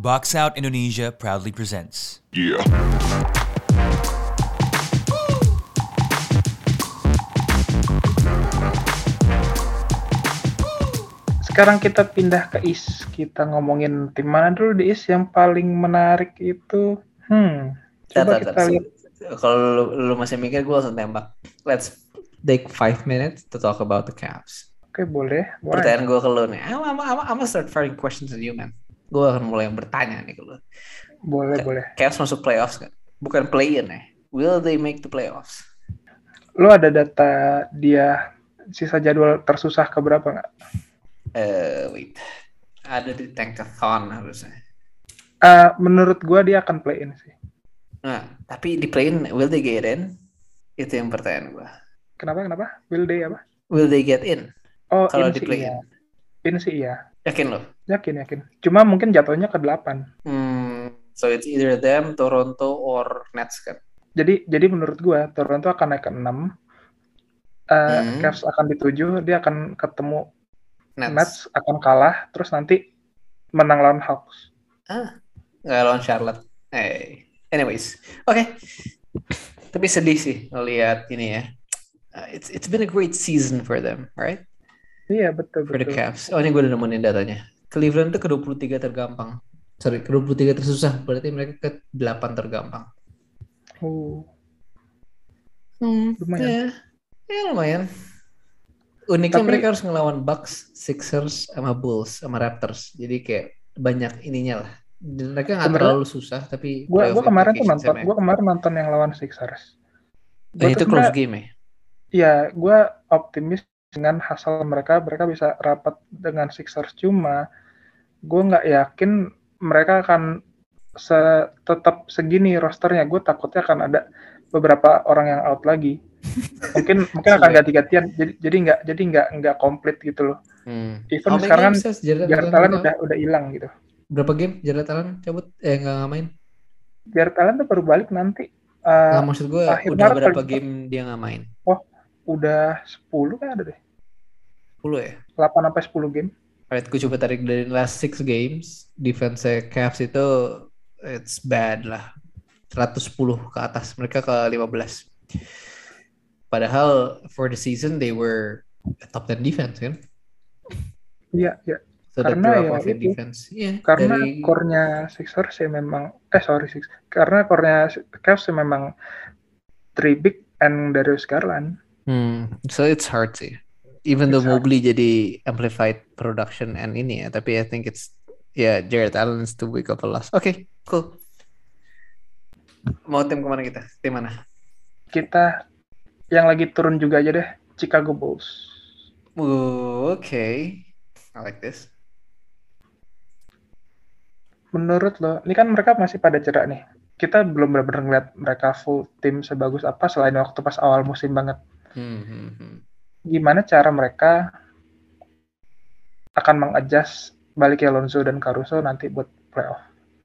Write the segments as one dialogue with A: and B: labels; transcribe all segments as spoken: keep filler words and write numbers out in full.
A: Box Out Indonesia proudly presents.
B: Yeah.
C: Sekarang kita pindah ke East. Kita ngomongin tim mana dulu di East yang paling menarik itu. Hmm. Coba
D: Tar, tar,
C: kita
D: tar.
C: lihat.
D: Kalau lu, lu masih mikir, gue langsung tembak. Let's take five minutes to talk about the Cavs.
C: Oke, boleh. boleh.
D: Pertanyaan gue ke lu nih. I'm, I'm, I'm, I'm gonna start firing questions to you, man. Gue akan mulai bertanya nih ke lu.
C: Boleh, boleh.
D: Cavs masuk playoffs kan? Bukan play-in ya. Will they make the playoffs?
C: Lu ada data dia sisa jadwal tersusah ke berapa nggak?
D: Uh, wait. Ada di Tankathon harusnya.
C: Uh, menurut gua dia akan play in sih.
D: Nah, tapi di play-in, will they get in? Itu yang pertanyaan gua.
C: Kenapa, kenapa? Will they apa?
D: Will they get in?
C: Oh,
D: Kalau
C: in
D: di
C: sih
D: play-in.
C: iya. In sih iya.
D: Yakin lo?
C: Yakin, yakin. Cuma mungkin jatuhnya ke delapan.
D: Hmm, so it's either them, Toronto, or Nets kan?
C: Jadi jadi menurut gua Toronto akan naik ke enam. Uh,
D: Hmm.
C: Cavs akan di tujuh, dia akan ketemu
D: Nets.
C: Nets akan kalah, terus nanti menang lawan Hawks.
D: Ah, nggak lawan Charlotte. Hey. Anyways, oke. Okay. Tapi sedih sih ngelihat ini ya. Uh, it's it's been a great season for them, right?
C: Iya, betul,
D: For the
C: betul.
D: Cavs. Oh, ini gue udah nemuin datanya. Cleveland tuh ke dua puluh tiga tergampang. Sorry, ke dua puluh tiga tersusah. Berarti mereka ke delapan tergampang.
C: Oh,
D: Hmm,
C: lumayan.
D: ya. Ya lumayan. Uniknya
C: Tapi-
D: mereka harus ngelawan Bucks, Sixers, sama Bulls, sama Raptors. Jadi kayak banyak ininya lah. Dan mereka nggak
C: Sebenarnya
D: terlalu susah, tapi
C: Gua
D: playoff
C: gua kemarin tuh
D: implications-nya
C: nonton,
D: banyak.
C: gua kemarin nonton yang lawan Sixers.
D: Dan
C: Gua
D: itu
C: tuh
D: close
C: sebenarnya,
D: game ya.
C: ya, gua optimis dengan hasil mereka, mereka bisa rapat dengan Sixers. Cuma gua nggak yakin mereka akan se- tetap segini rosternya. Gue takutnya akan ada beberapa orang yang out lagi. Mungkin mungkin akan
D: Sesuai.
C: ganti-gantian. Jadi jadi nggak jadi nggak nggak komplit gitu loh.
D: Hmm.
C: Even
D: How many
C: sekarang
D: games has Jared
C: Jared
D: Allen
C: Allen
D: mereka-
C: udah udah hilang gitu.
D: Berapa game Jared Allen cabut? Eh nggak nggak main?
C: Jared Allen tuh baru balik nanti.
D: Nggak,
C: Uh,
D: maksud gue
C: akhir
D: udah
C: Maret
D: berapa
C: kali.
D: game dia nggak main?
C: udah sepuluh kan ada deh.
D: sepuluh ya?
C: delapan sampai sepuluh game.
D: Alright, gue coba tarik dari last six games. Defense Cavs itu it's bad lah. seratus sepuluh ke atas. Mereka ke lima belas. Padahal for the season they were a top ten defense kan?
C: Iya, iya.
D: So the
C: Karena
D: drop
C: ya
D: off in
C: itu.
D: defense. Iya,
C: Karena
D: dari
C: core-nya Sixers ya memang eh sorry Six. Karena core-nya Cavs ya memang three big and Darius Garland.
D: hmm, so it's hard sih. Even though
C: It's hard.
D: Mobley jadi amplified production and ini ya, tapi I think it's yeah, Jared Allen is too big of a loss. Oke, okay, cool. Mau tim kemana kita? Tim mana?
C: Kita yang lagi turun juga aja deh, Chicago Bulls.
D: Ooh, okay. I like this.
C: Menurut lo, ini kan mereka masih pada cedera nih. Kita belum benar-benar ngeliat mereka full tim sebagus apa selain waktu pas awal musim banget.
D: Hmm, hmm, hmm.
C: Gimana cara mereka akan mengadjust baliknya Lonzo dan Caruso nanti buat playoff?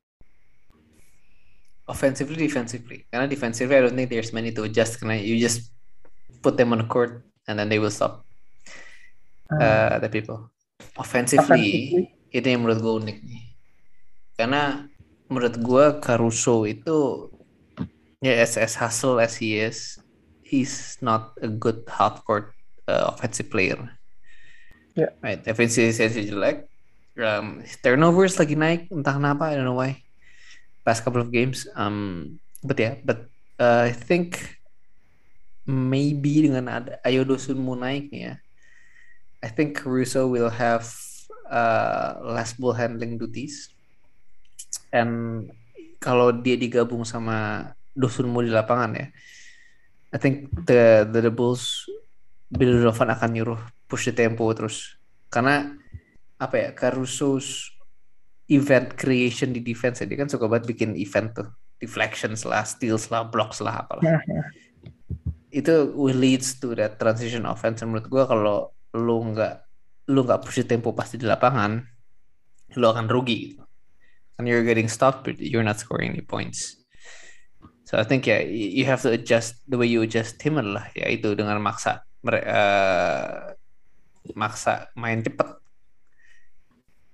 D: Offensively, defensively. Karena defensively, I don't think there's many to adjust. Karena you just put them on the court and then they will stop
C: Hmm.
D: uh, the people. Offensively,
C: Offensively.
D: itu yang menurut gue unik nih. Karena menurut gue Caruso itu ya as, as hustle as he is, he's not a good half court uh, offensive player.
C: Yeah.
D: Right, efisiensi jelek. Um, turnovers lagi naik, entah kenapa, I don't know why. Past couple of games, um, but yeah, but uh, I think maybe dengan ada Ayo Dosunmu naik nih ya, I think Caruso will have uh, less ball handling duties, and kalau dia digabung sama Dosunmu di lapangan ya, I think the the, the Bulls Bill Donovan akan nyuruh push the tempo terus, karena apa ya, Caruso's event creation di defense ya, dia kan suka banget bikin event tuh, deflections lah, steals lah, blocks lah, apalah. Itu will leads to that transition offense. Menurut gue kalau lu nggak lu nggak push tempo pasti di lapangan, lu akan rugi gitu. And you're getting stopped, but you're not scoring any points. So I think ya, yeah, you have to adjust the way you adjust him adalah ya itu dengan maksa mere- uh, maksa main cepet.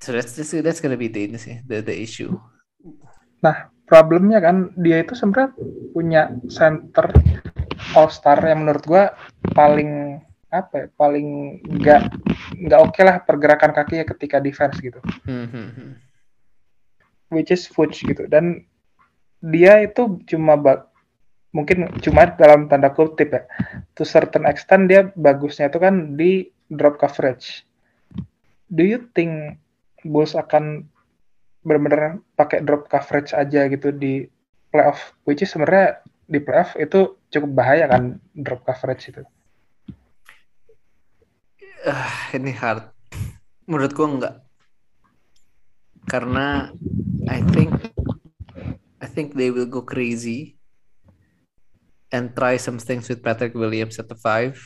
D: So that's that's, that's gonna be the ini sih, the the issue.
C: Nah, problemnya kan dia itu sebenarnya punya center all star yang menurut gua paling apa ya, paling nggak nggak oke lah pergerakan kakinya ketika defense gitu,
D: Hmm, hmm, hmm.
C: which is Fuchs gitu. Dan dia itu cuma ba- mungkin cuma dalam tanda kutip ya, to certain extent dia bagusnya itu kan di drop coverage. Do you think Bulls akan benar-benar pakai drop coverage aja gitu di playoff, which is sebenarnya di playoff itu cukup bahaya kan drop coverage itu.
D: Ah, ini hard. Menurut gua enggak. Karena I think I think they will go crazy and try some things with Patrick Williams at the five.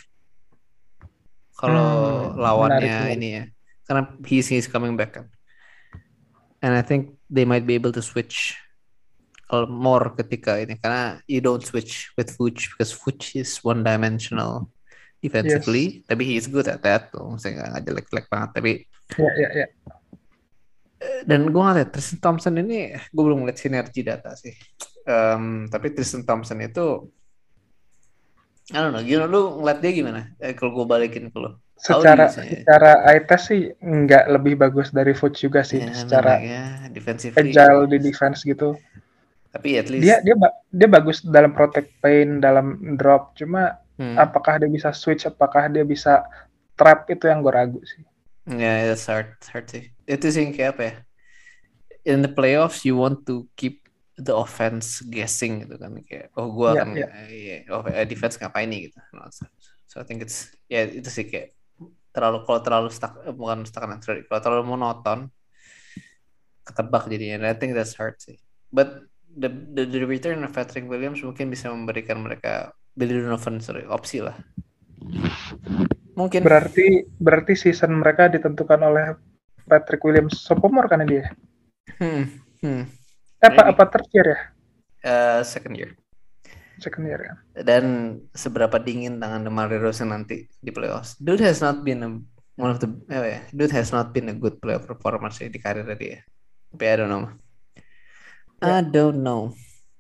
D: Kalau
C: Hmm,
D: lawannya
C: menarik, menarik.
D: ini ya, karena he's he's coming back kan. And I think they might be able to switch a- more ketika ini, karena you don't switch with Fuchs because Fuchs is one dimensional defensively, tapi he is good at that tuh, maksudnya nggak nggak jelek-jelek banget, tapi
C: Ya, ya, ya.
D: dan gue ngeliat Tristan Thompson ini, gue belum ngeliat sinergi data sih. Em, tapi Tristan Thompson itu, I don't know, gimana lu ngeliat dia gimana? Eh, kalau gue balikin ke lu, how do you
C: Secara
D: say?
C: secara eye test sih nggak lebih bagus dari Fuchs juga sih,
D: Ya, I mean
C: secara
D: like ya, defensively,
C: agile di defense gitu.
D: tapi at
C: Dia
D: least,
C: dia ba- dia bagus dalam protect paint, dalam drop. Cuma
D: hmm,
C: apakah dia bisa switch, apakah dia bisa trap, itu yang gue ragu sih.
D: ya that's hard, hard sih. Itu sih kayak apa ya? In the playoffs, you want to keep the offense guessing gitu kan, kayak oh gue
C: Ya,
D: akan
C: ya.
D: eh, oh, eh, defense ngapain nih gitu. No, so, so I think it's ya itu sih kayak terlalu kalau terlalu stuck eh, bukan stuck kan sorry, kalau terlalu monoton ketebak jadinya. And I think that's hard sih. But the, the the return of Patrick Williams mungkin bisa memberikan mereka Billy Donovan sorry opsi lah. Mungkin.
C: Berarti berarti season mereka ditentukan oleh Patrick Williams sophomore kan dia?
D: Hmm, hmm.
C: Eh, apa
D: Maybe.
C: apa third year ya?
D: Uh, second year.
C: Second year ya.
D: Dan seberapa dingin tangan DeMar DeRozan nanti di playoffs. Dude has not been a, one of the eh, ya, dude has not been a good playoff performance di karirnya dia. Tapi I don't know. I don't know.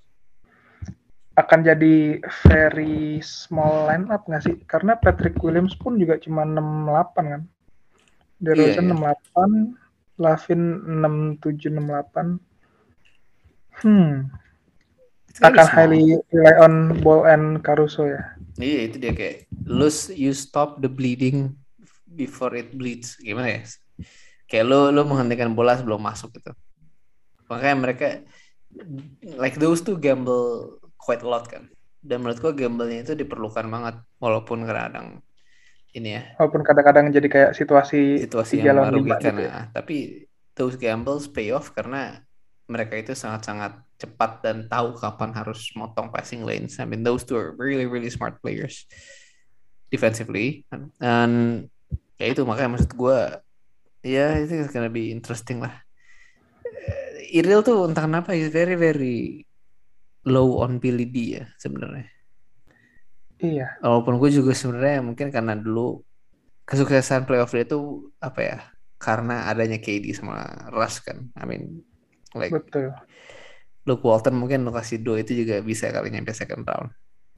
C: Akan jadi very small lineup nggak sih? Karena Patrick Williams pun juga cuma enam delapan kan. DeRozan
D: Iya, iya.
C: enam delapan, Lavin enam tujuh enam delapan. Hmm.
D: It's gonna be
C: Akan
D: small.
C: highly rely on Ball and Caruso ya.
D: Iya itu dia kayak lose you stop the bleeding before it bleeds. Gimana ya? Kayak lo lo menghentikan bola sebelum masuk gitu. Makanya mereka like those two gamble quite a lot kan. Dan menurut gua gamble-nya itu diperlukan banget walaupun kadang ini ya
C: Walaupun kadang-kadang jadi kayak situasi
D: situasi
C: tiga
D: yang
C: lawan lima
D: merugikan
C: gitu ya.
D: ya. Tapi those gambles pay off karena mereka itu sangat-sangat cepat dan tahu kapan harus motong passing lanes. I mean those two are really really smart players defensively. Dan ya itu makanya maksud gue ya itu gonna be interesting lah. Iril tuh entah kenapa is very very low on Billy D ya sebenarnya.
C: Iya.
D: Walaupun gue juga sebenarnya mungkin karena dulu kesuksesan playoff dia tuh apa ya karena adanya K D sama Russ kan. I mean like
C: Betul.
D: Luke Walton mungkin lo kasih dua itu juga bisa kali nyampe second round.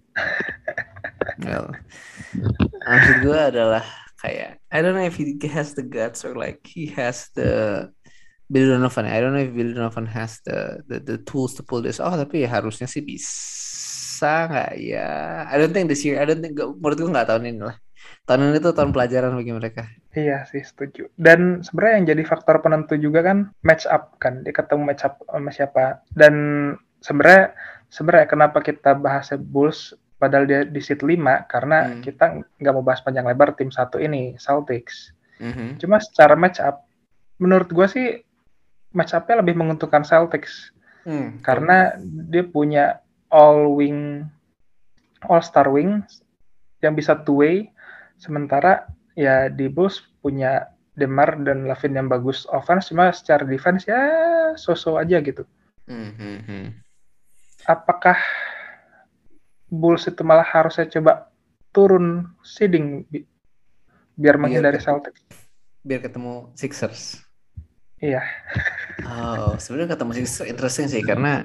D: Well, maksud gue adalah kayak I don't know if he has the guts or like he has the Billy Donovan. I don't know if Billy Donovan has the the, the tools to pull this off. Tapi ya harusnya sih bisa nggak ya? I don't think this year. I don't think. Menurut gue nggak tahun ini lah. Tahun ini tuh tahun pelajaran bagi mereka.
C: Iya sih, setuju. Dan sebenarnya yang jadi faktor penentu juga kan match up kan. Dia ketemu match up sama siapa. Dan sebenarnya sebenarnya kenapa kita bahas Bulls padahal dia di seat lima karena
D: Hmm.
C: kita nggak mau bahas panjang lebar tim satu ini, Celtics.
D: Mhm.
C: Cuma secara match up menurut gue sih match up-nya lebih menguntungkan Celtics.
D: Hmm.
C: Karena dia punya all wing all star wing yang bisa two way, sementara ya di Bulls punya DeMar dan Lavin yang bagus offense, cuma secara defense ya so-so aja gitu.
D: Mhm.
C: Apakah Bulls itu malah harusnya coba turun seeding bi- biar menghindari
D: ket-
C: Celtics?
D: Biar ketemu Sixers.
C: Iya.
D: Oh, sebenarnya kata musik itu interesting sih karena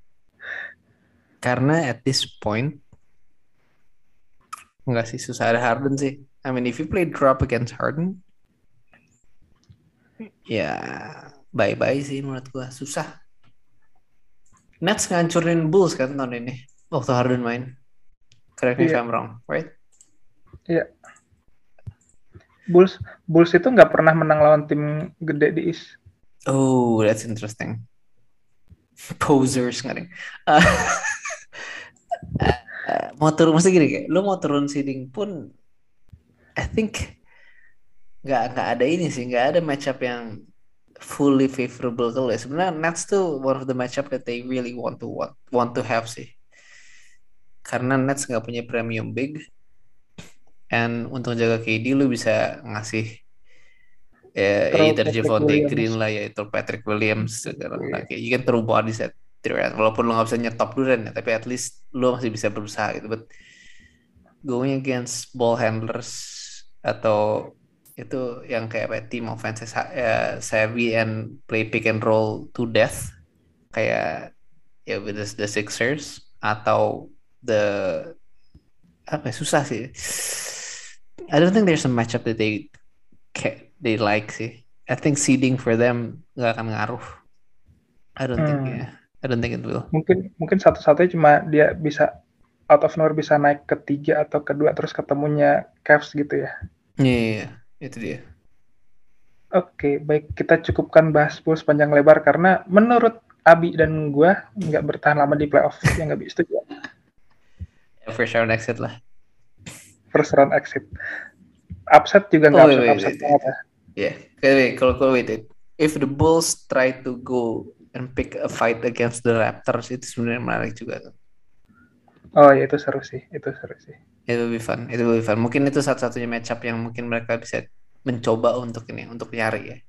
D: karena at this point enggak sih susah ada Harden sih. I mean if you play drop against Harden, ya bye-bye sih menurut gua susah. Nets ngancurin Bulls kan tahun ini waktu Harden main. Correct me if
C: Iya,
D: I'm wrong, right?
C: iya. Bulls Bulls itu nggak pernah menang lawan tim gede di East.
D: Oh, that's interesting. Posers nggak deh. Uh, uh, mau turun mesti gini kayak, lu mau turun seeding pun, I think nggak nggak ada ini sih, nggak ada matchup yang fully favorable kalau ya. Sebenarnya Nets tuh one of the matchup that they really want to want, want to have sih. Karena Nets nggak punya premium big, and untuk jaga K D lu bisa ngasih ya
C: Terus
D: either
C: Patrick
D: Javonte
C: Williams.
D: Green lah yaitu Patrick Williams sekarang nah, kayak you can throw bodies at Durant walaupun lu nggak bisa nyetop Durant ya tapi at least lu masih bisa berusaha gitu but going against ball handlers atau itu yang kayak apa team offense uh, savvy and play pick and roll to death kayak ya with the, the Sixers atau the apa ya, susah sih I don't think there's a matchup that they they like sih. I think seeding for them nggak akan ngaruh. I don't think
C: Hmm.
D: ya. I don't think it will.
C: Mungkin mungkin satu-satunya cuma dia bisa out of nowhere bisa naik ke tiga atau kedua terus ketemunya Cavs gitu ya.
D: Iya, yeah, yeah, itu dia.
C: Oke, baik kita cukupkan bahas Bulls panjang lebar karena menurut Abi dan gua nggak bertahan lama di playoff yang nggak bisa setuju.
D: Yeah, first round exit lah.
C: First round exit. Upset juga nggak
D: Oh,
C: upset
D: wait,
C: upset
D: wait,
C: banget
D: wait.
C: ya.
D: Yeah, wait, kalau kalau wait, wait. If the Bulls try to go and pick a fight against the Raptors itu sebenarnya menarik juga tuh.
C: Oh ya itu seru sih, itu seru sih.
D: It will be fun, it will be fun. Mungkin itu satu-satunya matchup yang mungkin mereka bisa mencoba untuk ini, untuk nyari ya.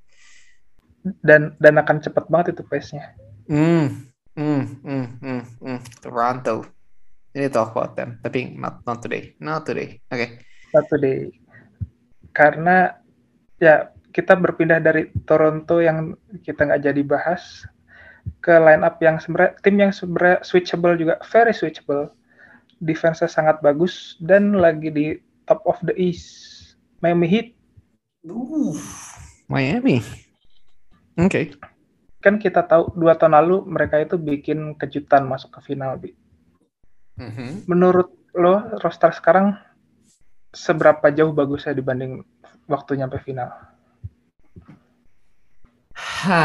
C: Dan dan akan cepet banget itu pace-nya.
D: Hmm, hmm, hmm, hmm, hmm. Toronto. We need to talk about them, tapi not not today, not today. Oke. Okay.
C: Satu deh. Karena ya kita berpindah dari Toronto yang kita nggak jadi bahas ke line up yang sebenarnya tim yang sebenarnya switchable juga, very switchable. Defense-nya sangat bagus dan lagi di top of the East. Miami Heat.
D: Uh, Miami. Oke. Okay.
C: Kan kita tahu dua tahun lalu mereka itu bikin kejutan masuk ke final, Bi.
D: Mm-hmm.
C: Menurut lo roster sekarang seberapa jauh bagusnya dibanding waktu nyampe final?
D: Ha,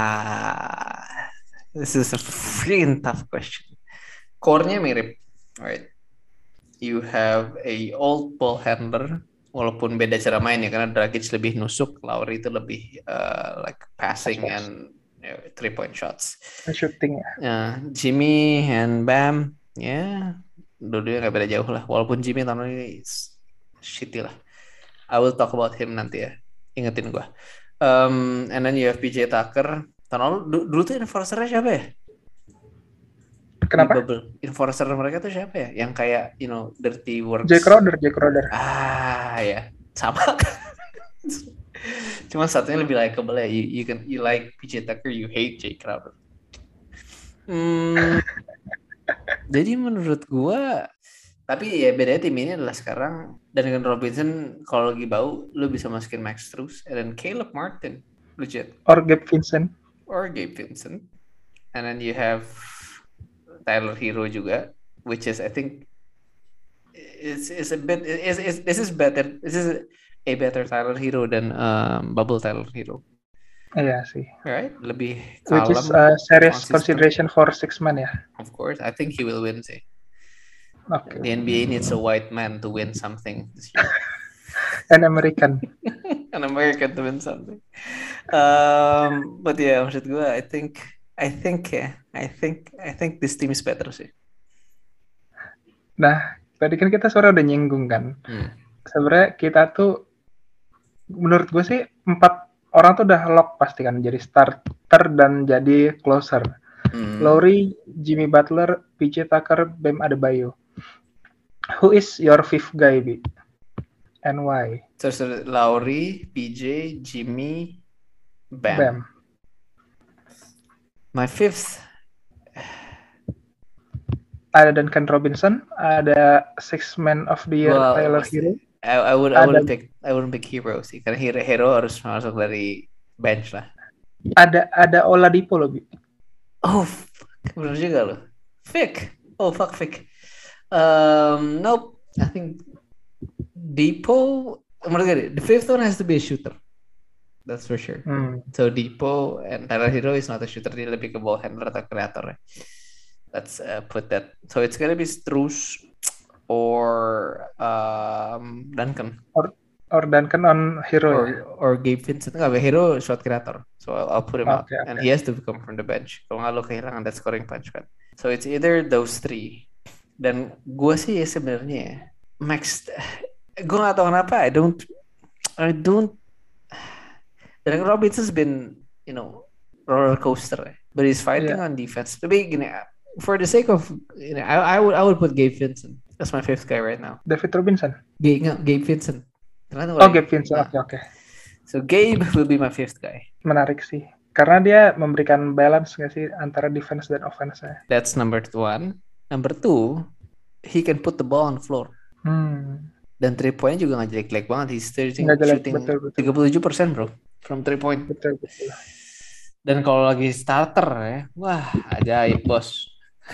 D: this is a freaking tough question. Core-nya mirip, right? You have a old ball handler, walaupun beda cara main ya, karena Dragic lebih nusuk, Lowry itu lebih uh, like passing Pass. and you know, three point shots.
C: Shooting ya.
D: Uh, Jimmy and Bam, ya, yeah, dua-duanya nggak beda jauh lah. Walaupun Jimmy tahun ini shitty lah. I will talk about him nanti ya. Ingetin gue. Um, and then you have P J Tucker. Tahun lalu du- dulu tuh enforcer-nya siapa ya?
C: Kenapa?
D: Enforcer mereka tuh siapa ya? Yang kayak you know dirty works.
C: Jay Crowder, Jay Crowder.
D: Ah ya, sama. Cuma satunya lebih likeable ya. You, you can you like P J Tucker, you hate Jay Crowder. Hmm, jadi menurut gua, tapi ya bedanya tim ini adalah sekarang Duncan Robinson kalau lagi bau, lu bisa masukin Max Strus, and then Caleb Martin, legit.
C: Or Gabe Vincent.
D: Or Gabe Vincent, and then you have Tyler Hero juga, which is I think is is a bit is is this is better. This is a better Tyler Hero than um, Bubble Tyler Hero.
C: Iya sih.
D: Right, lebih kalem.
C: Which is a serious
D: consistent.
C: consideration for six man ya.
D: Of course, I think he will win sih.
C: Okay.
D: The N B A needs a white man to win something this year.
C: An American.
D: An American to win something. Um, but yeah, maksud gue, I think, I think ya, yeah, I think, I think this team is better sih.
C: Nah, tadi kan kita suara udah nyinggung kan. Hmm. Sebenarnya kita tuh, menurut gue sih empat orang tuh udah lock pasti kan jadi starter dan jadi closer. Hmm. Lowry, Jimmy Butler, P J Tucker, Bam Adebayo. Who is your fifth guy, Bi? And why?
D: So, so Lowry, P J, Jimmy, Bam. Bam. My fifth,
C: Ada Duncan Robinson, ada Six Man of the Year
D: well,
C: Tyler
D: pasti.
C: Hero,
D: I, I would I
C: ada
D: wouldn't pick I wouldn't pick hero sih, karena hero hero harus masuk dari bench lah.
C: ada ada Oladipo loh, Bi.
D: Oh, fuck. Bener juga loh. Vic. Oh, fuck Vic. Um, nope. I think Depot. Menurut gue, the fifth one has to be a shooter. That's for sure.
C: Hmm.
D: So Depot and Tyler Hero is not a shooter. Dia lebih ke ball handler atau kreator ya. Let's uh, put that. So it's gonna be Strus or um, Duncan.
C: Or or Duncan on Hero
D: Or,
C: ya.
D: or Gabe Vincent. Enggak, Hero shot creator. So I'll, I'll put him out.
C: Okay,
D: And
C: okay.
D: he has to come from the bench. Kalau nggak lo kehilangan that scoring punch kan. So it's either those three. Dan gue sih sebenarnya ya, Max, gue nggak tahu kenapa. I don't, I don't. Dan Robinson's been, you know, roller coaster. eh. But he's fighting
C: Yeah.
D: on defense. Tapi gini, for the sake of, you know, I, I would, I would put Gabe Vincent. That's my fifth guy right now.
C: David Robinson.
D: Gabe, nggak, Gabe Vincent. Ternyata
C: Oh,
D: gue-
C: Gabe Vincent.
D: Nah,
C: Oke, oke.
D: So Gabe will be my fifth guy.
C: Menarik sih. Karena dia memberikan balance nggak sih antara defense dan offense-nya.
D: That's number one. Number two, he can put the ball on the floor.
C: Hmm.
D: Dan three point juga nggak jelek-jelek banget. He's shooting,
C: Nggak jelek,
D: shooting
C: betul, betul.
D: tiga puluh tujuh persen bro from three point.
C: Betul, betul.
D: Dan kalau lagi starter ya, wah ajaib bos.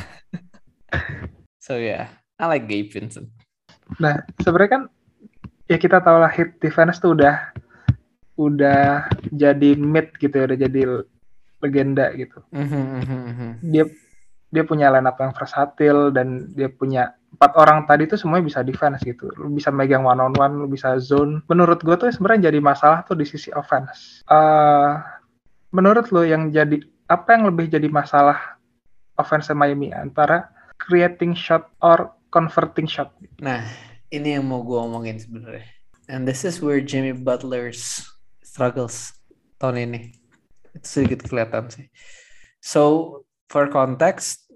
D: So yeah, I like Gabe Vincent.
C: Nah, sebenarnya kan ya kita tahu lah Heat defense tuh udah udah jadi mid gitu ya, udah jadi legenda gitu.
D: Mhm, mhm, mhm.
C: Dia dia punya line up yang versatil dan dia punya empat orang tadi tuh semuanya bisa defense gitu. Lu bisa megang one on one, lu bisa zone. Menurut gue tuh sebenarnya jadi masalah tuh di sisi offense. Eh menurut lo yang jadi apa yang lebih jadi masalah offense Miami antara creating shot or converting shot?
D: Nah, ini yang mau gue omongin sebenarnya. And this is where Jimmy Butler's struggles tahun ini. Itu sedikit kelihatan sih. So, for context,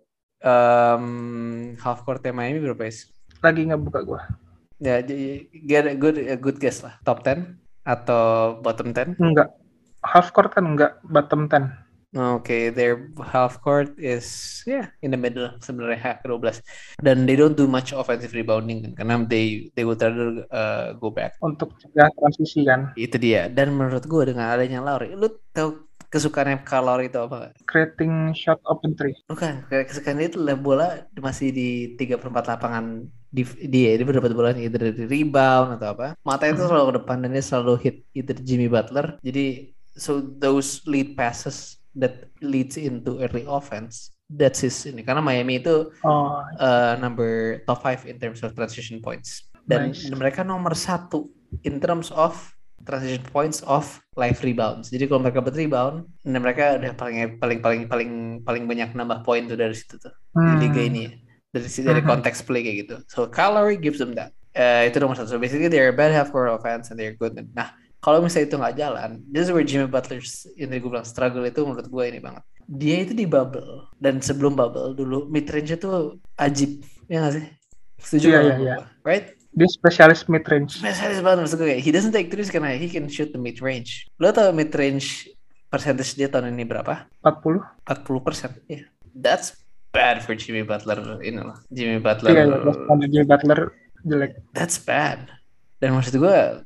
D: um, half courtnya Miami berapa is?
C: Lagi ngebuka gue.
D: Ya, j- get a good, a good guess lah. Top ten atau bottom ten?
C: Enggak. Half court kan enggak, bottom ten.
D: Okay, their half court is yeah in the middle sebenarnya half dua belas. Dan they don't do much offensive rebounding kan, karena they they would rather uh, go back.
C: Untuk cegah transisi kan.
D: Itu dia. Dan menurut gue dengan adanya Lowry, lu tahu kesukaannya Kyle Lowry itu apa?
C: Creating shot open three.
D: Bukan, kesukaan dia itu lah bola masih di tiga per empat lapangan di dia dia dapat bola either dari rebound atau apa. Mata itu selalu ke depan dan dia selalu hit either Jimmy Butler. Jadi so those lead passes that leads into early offense, that's his ini. Karena Miami itu
C: Oh,
D: uh, number top five in terms of transition points. Dan
C: Nice.
D: mereka nomor satu in terms of transition points of live rebounds. Jadi kalau mereka ber-rebound, dan mereka udah paling paling paling paling paling banyak nambah poin tuh dari situ tuh di
C: Hmm.
D: liga ini ya. Dari si- dari
C: Mhm.
D: konteks play kayak gitu. So Kyle Lowry gives them that. Uh, itu nomor satu. So basically they're a bad half court offense and they're good. Nah kalau misalnya itu nggak jalan, this is where Jimmy Butler's yang tadi gue bilang struggle itu menurut gue ini banget. Dia itu di bubble dan sebelum bubble dulu mid range itu ajib, ya nggak sih? Setuju
C: Iya,
D: nggak
C: iya,
D: sama
C: iya.
D: gua? Right?
C: Dia spesialis mid range.
D: Spesialis banget maksud gue kayak he doesn't take threes karena he can shoot the mid range. Lo tau mid range percentage dia tahun ini berapa?
C: empat puluh.
D: empat puluh persen. Yeah. That's bad for Jimmy Butler ini loh. Jimmy Butler.
C: Iya, iya. Standar Jimmy Butler jelek.
D: That's bad. Dan maksud gue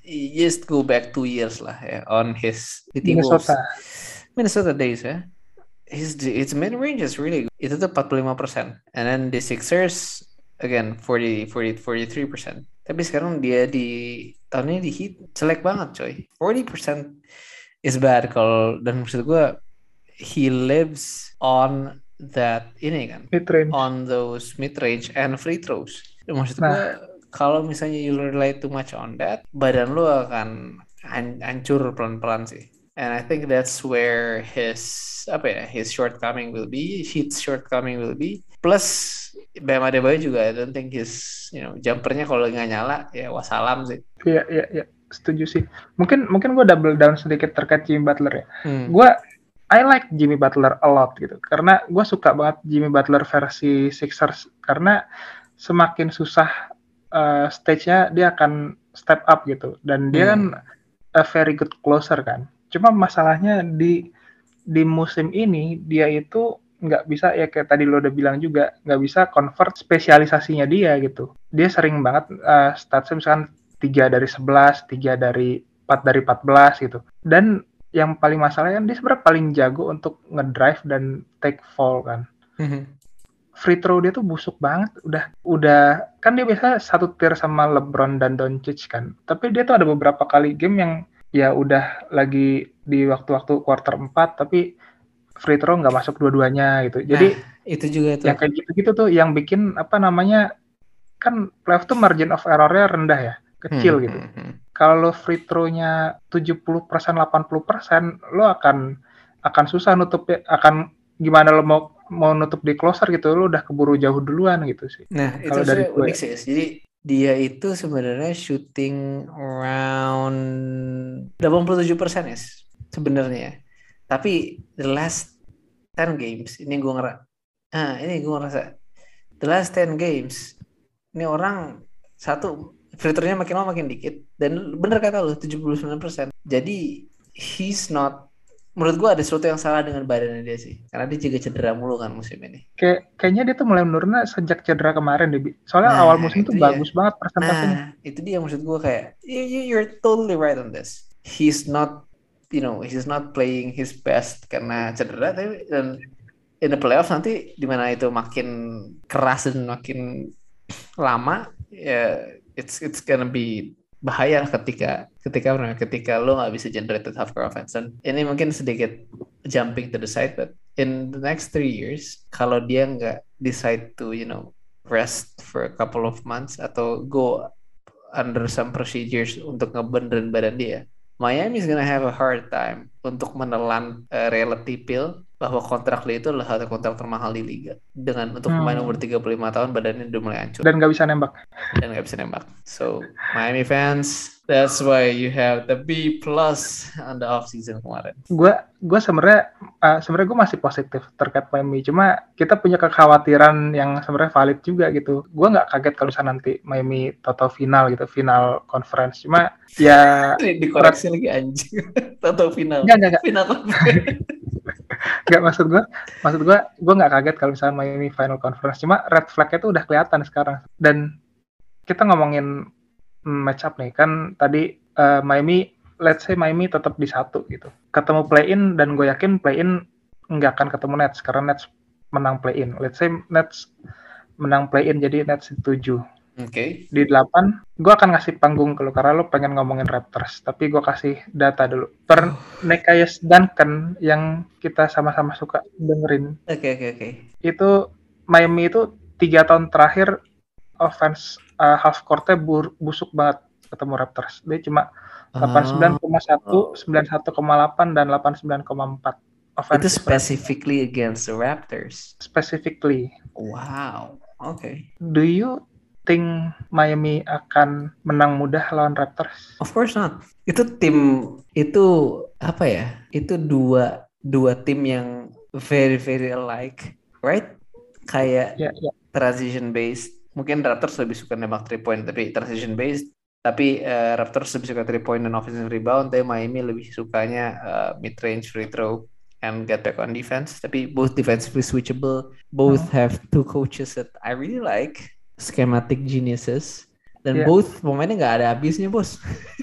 D: just go back two years lah ya on his di Timberwolves.
C: Minnesota.
D: Minnesota days ya. His his mid range is really good. Itu tuh empat puluh lima persen. And then the Sixers again forty, forty, forty-three persen. Tapi sekarang dia di tahun ini di Heat jelek banget coy. forty percent is bad kalau dan maksud gue he lives on that ini kan
C: Mid range.
D: on those mid range and free throws. Dan maksud
C: Nah.
D: gue kalau misalnya you rely too much on that, badan lu akan han- hancur pelan-pelan sih. And I think that's where his apa ya his shortcoming will be, Heat's shortcoming will be. Plus Bam Adebayo juga I don't think his you know jumpernya kalau nggak nyala ya wassalam sih.
C: Iya, iya, iya. Setuju sih. Mungkin mungkin gue double down sedikit terkait Jimmy Butler ya.
D: Hmm.
C: Gue I like Jimmy Butler a lot gitu. Karena gue suka banget Jimmy Butler versi Sixers. Karena semakin susah uh, stage-nya dia akan step up gitu. Dan dia
D: Hmm.
C: kan a very good closer kan. Cuma masalahnya di di musim ini dia itu nggak bisa ya kayak tadi lo udah bilang juga nggak bisa convert spesialisasinya dia gitu. Dia sering banget uh, statsnya misalkan tiga dari sebelas, tiga dari empat dari empat belas gitu. Dan yang paling masalah kan dia sebenarnya paling jago untuk ngedrive dan take fall kan.
D: Mhm.
C: Free throw dia tuh busuk banget. Udah udah kan dia biasa satu tier sama LeBron dan Doncic kan. Tapi dia tuh ada beberapa kali game yang ya udah lagi di waktu-waktu quarter empat tapi free throw nggak masuk dua-duanya gitu. Jadi
D: Nah, itu juga tuh.
C: yang kayak gitu-gitu tuh yang bikin apa namanya kan playoff tuh margin of error-nya rendah ya, kecil
D: Hmm,
C: gitu.
D: hmm, hmm.
C: Kalau free throw-nya tujuh puluh persen delapan puluh persen lo akan akan susah nutup akan gimana lo mau mau nutup di closer gitu lo udah keburu jauh duluan gitu sih.
D: Nah, itu
C: Kalau dari
D: sebenarnya
C: gue
D: unik sih. Jadi dia itu sebenarnya shooting around delapan puluh tujuh persen ya sebenarnya. Tapi the last ten games ini gue ngerasa ah ini gue ngerasa the last ten games ini orang satu free throw-nya makin lama makin dikit dan bener kata lu tujuh puluh sembilan persen. Jadi he's not menurut gue ada sesuatu yang salah dengan badannya dia sih. Karena dia juga cedera mulu kan musim ini.
C: kayak kayaknya dia tuh mulai menurun sejak cedera kemarin deh. Bi. Soalnya
D: Nah,
C: awal musim
D: itu
C: tuh
D: dia.
C: bagus banget persentasenya.
D: Nah, itu dia maksud gue kayak you, you, you're totally right on this. He's not, you know, he's not playing his best karena cedera, tapi dan in the playoffs nanti dimana itu makin keras dan makin lama, ya it's it's gonna be bahaya ketika ketika ketika lo nggak bisa generate half court offense. Dan ini mungkin sedikit jumping to the side, but in the next three years, kalau dia nggak decide to, you know, rest for a couple of months atau go under some procedures untuk ngebenerin badan dia, Miami is gonna have a hard time untuk menelan uh, reality pill bahwa kontrak dia itu adalah satu kontrak termahal di liga. Dengan untuk pemain
C: Hmm.
D: umur tiga puluh lima tahun badannya udah mulai hancur
C: Dan nggak bisa nembak.
D: dan nggak bisa nembak. So Miami fans, that's why you have the B plus on the off season kemarin.
C: Gue gue sebenarnya uh, sebenarnya gue masih positif terkait Miami. Cuma kita punya kekhawatiran yang sebenarnya valid juga gitu. Gue nggak kaget kalau misalnya nanti Miami total final gitu, final conference. Cuma ya
D: Ini dikoreksi lagi anjing. Tahu final.
C: Nggak, nggak, nggak.
D: Final conference.
C: nggak maksud gue, maksud gue gue nggak kaget kalau misalnya Miami final conference. Cuma red flag-nya tuh udah kelihatan sekarang. Dan kita ngomongin match up nih kan tadi uh, Miami, let's say Miami tetap di satu gitu, ketemu play in dan gue yakin play in nggak akan ketemu Nets karena Nets menang play in. Let's say Nets menang play in jadi Nets di tujuh.
D: Oke. Okay.
C: Di delapan gue akan ngasih panggung ke lu karena lu pengen ngomongin Raptors, tapi gue kasih data dulu. Per Nekias Duncan yang kita sama-sama suka dengerin.
D: Oke okay, oke okay, oke. Okay.
C: Itu Miami itu tiga tahun terakhir offense uh, half court-nya bur- busuk banget ketemu Raptors. Dia cuma delapan puluh sembilan koma satu, sembilan puluh satu koma delapan dan delapan puluh sembilan koma empat.
D: Itu specifically against the Raptors.
C: Specifically.
D: Wow. Oke. Okay.
C: Do you think Miami akan menang mudah lawan Raptors?
D: Of course not. Itu tim itu apa ya? Itu dua dua tim yang very very alike, right? Kayak
C: yeah, yeah.
D: transition based. Mungkin Raptors lebih suka nembak three point tapi transition based. Tapi uh, Raptors lebih suka three point dan offensive rebound. Tapi Miami lebih sukanya uh, mid range free throw and get back on defense. Tapi both defensively switchable. Both hmm. have two coaches that I really like. Schematic geniuses. Dan yeah. both pemainnya nggak ada habisnya bos.